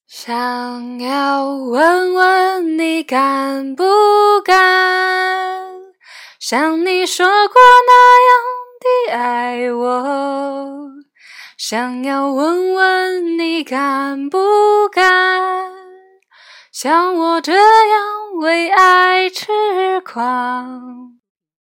想要问问你敢不敢，像你说过那样的爱我。想要问问你敢不敢，像我这样为爱痴狂。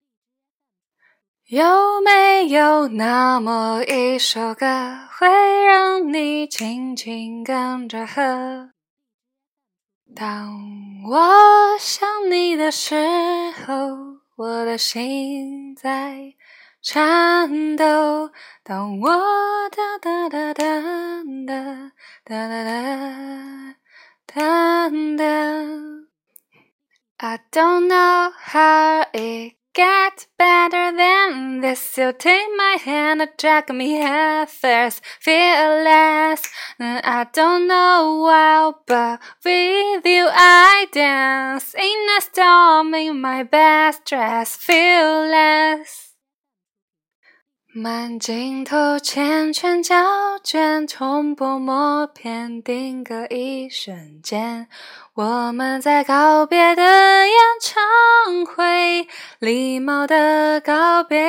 有没有那么一首歌，会让你轻轻跟着和？当我想你的时候，我的心在颤抖。当我哒哒哒哒哒哒哒哒哒哒。I don't know how it gets better than this. You take my hand and drag me head first, fearless. I don't know why, but with you I dance in a storm in my best dress, fearless. 满镜头缱绻胶卷，重播默片，定格一瞬间。我们在告别的演唱会，礼貌的告别。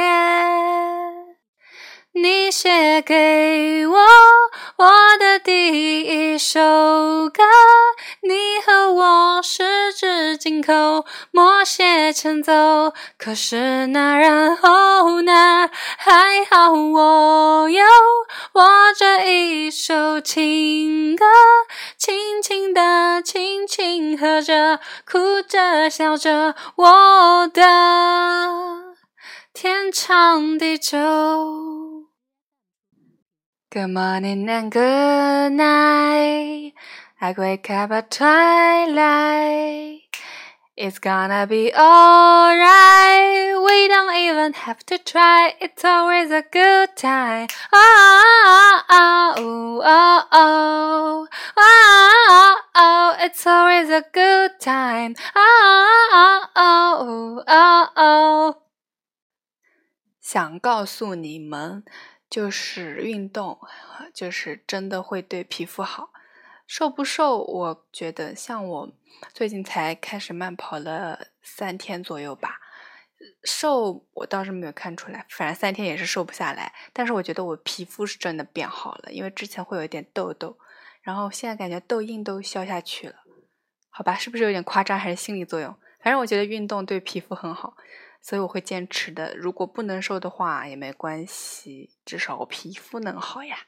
你写给我的第一首歌，你和我十指紧扣，默写前奏。可是那然后呢？还好我有我这一首情歌，轻轻地轻轻和着，哭着笑着，我的天长地久。Good morning and good night. I wake up at twilight. It's gonna be alright. We don't even have to try. It's always a good time. Oh, oh, oh, oh, oh, oh, oh. It's always a good time. Oh, oh, oh, oh, oh. 想告诉你们，就是运动，就是真的会对皮肤好。瘦不瘦，我觉得像我最近才开始慢跑了3天左右吧，瘦我倒是没有看出来，反正3天也是瘦不下来。但是我觉得我皮肤是真的变好了，因为之前会有一点痘痘，然后现在感觉痘印都消下去了。好吧，是不是有点夸张，还是心理作用？反正我觉得运动对皮肤很好，所以我会坚持的。如果不能瘦的话也没关系，至少我皮肤能好呀。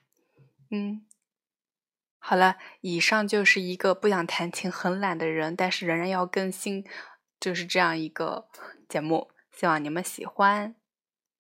好了，以上就是一个不想弹琴很懒的人，但是仍然要更新，就是这样一个节目，希望你们喜欢。